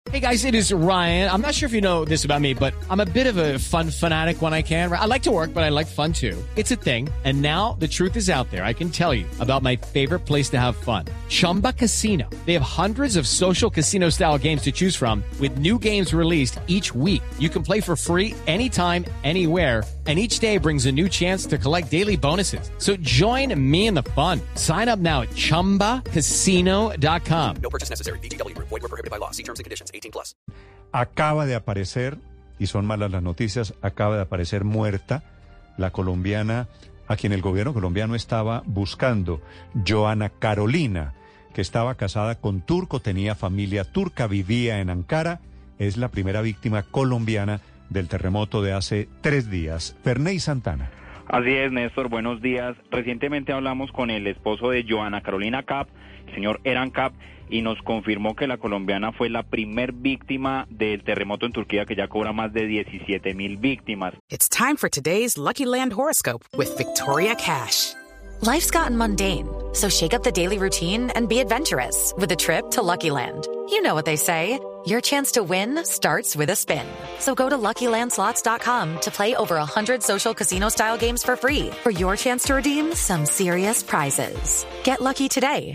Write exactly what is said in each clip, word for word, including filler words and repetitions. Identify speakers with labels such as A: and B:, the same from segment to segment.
A: Hey guys, it is Ryan. I'm not sure if you know this about me, but I'm a bit of a fun fanatic when I can. I like to work, but I like fun too. It's a thing. And now the truth is out there. I can tell you about my favorite place to have fun. Chumba Casino. They have hundreds of social casino style games to choose from with new games released each week. You can play for free anytime, anywhere. And each day brings a new chance to collect daily bonuses. So join me in the fun. Sign up now at chumba casino dot com.
B: No purchase necessary. V G W Group. Void where prohibited by law. See terms and conditions. eighteen plus.
C: Acaba de aparecer, y son malas las noticias, acaba de aparecer muerta la colombiana a quien el gobierno colombiano estaba buscando, Joana Carolina, que estaba casada con turco, tenía familia turca, vivía en Ankara, es la primera víctima colombiana del terremoto de hace tres días. Ferney Santana.
D: Así es, Néstor, buenos días. Recientemente hablamos con el esposo de Joana Carolina Kapp, el señor Eren Kapp, y nos confirmó que la colombiana fue la primer víctima del terremoto en Turquía, que ya cobra más de diecisiete mil víctimas.
E: It's time for today's Lucky Land horoscope with Victoria Cash.
F: Life's gotten mundane, so shake up the daily routine and be adventurous with a trip to Lucky Land. You know what they say, your chance to win starts with a spin. So go to lucky land slots dot com to play over one hundred social casino-style games for free for your chance to redeem some serious prizes. Get lucky today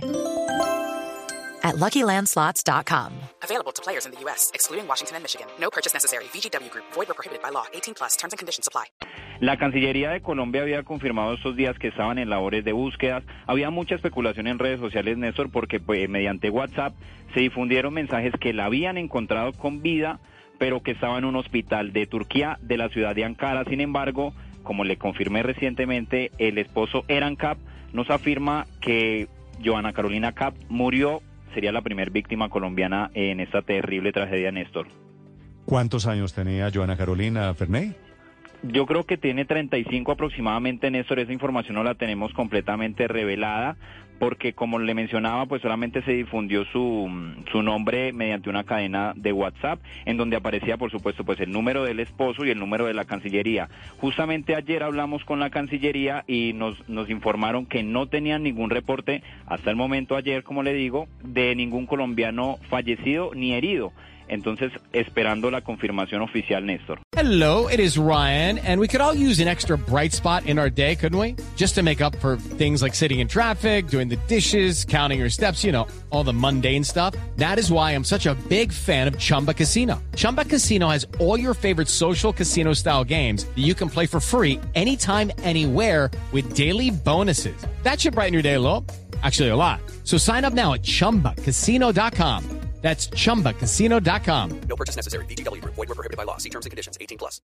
F: at lucky land slots dot com.
E: Available to players in the U S, excluding Washington and Michigan. No purchase necessary. V G W Group. Void where prohibited by law. eighteen plus. Terms and conditions apply.
D: La Cancillería de Colombia había confirmado estos días que estaban en labores de búsquedas. Había mucha especulación en redes sociales, Néstor, porque pues, mediante WhatsApp se difundieron mensajes que la habían encontrado con vida, pero que estaba en un hospital de Turquía, de la ciudad de Ankara. Sin embargo, como le confirmé recientemente, el esposo Eren Kapp nos afirma que Joana Carolina Kapp murió. Sería la primera víctima colombiana en esta terrible tragedia, Néstor.
C: ¿Cuántos años tenía Joana Carolina, Ferney?
D: Yo creo que tiene treinta y cinco aproximadamente, Néstor. Esa información no la tenemos completamente revelada, porque como le mencionaba, pues solamente se difundió su, su nombre mediante una cadena de WhatsApp, en donde aparecía, por supuesto, pues el número del esposo y el número de la Cancillería. Justamente ayer hablamos con la Cancillería y nos, nos informaron que no tenían ningún reporte, hasta el momento ayer, como le digo, de ningún colombiano fallecido ni herido. Entonces, esperando la confirmación oficial, Néstor.
A: Hello, it is Ryan, and we could all use an extra bright spot in our day, couldn't we? Just to make up for things like sitting in traffic, doing the dishes, counting your steps, you know, all the mundane stuff. That is why I'm such a big fan of Chumba Casino. Chumba Casino has all your favorite social casino-style games that you can play for free anytime, anywhere with daily bonuses. That should brighten your day a little. Actually, a lot. So sign up now at chumba casino dot com. That's chumba casino dot com.
B: No purchase necessary. V G W Group. Void where prohibited by law. See terms and conditions. eighteen plus.